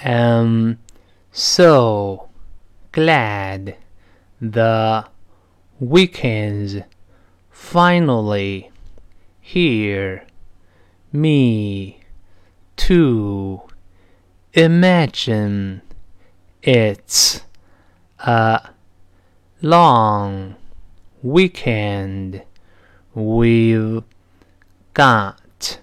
am so glad the weekend's finally here. Me too. Imagine it's a long weekend. We've got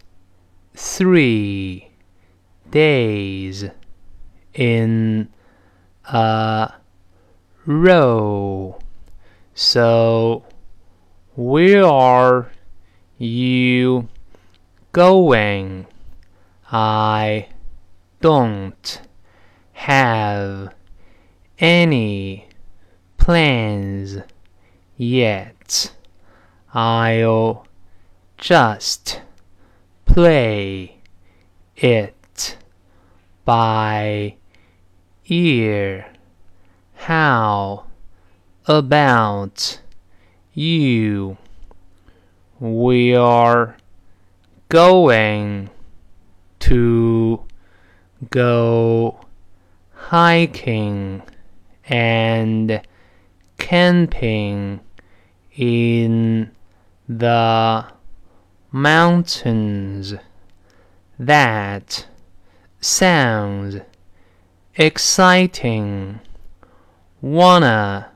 3 days in a row. So where are you going? I don't have any plans yet. I'll just play it by ear. How about you? We are going to go hiking and camping in the mountains. That sounds exciting. Wanna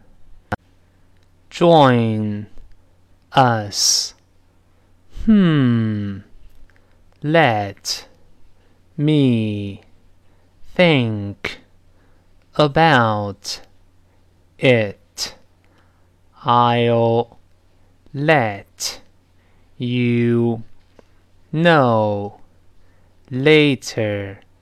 join us? Let me think about it. I'll let you know later.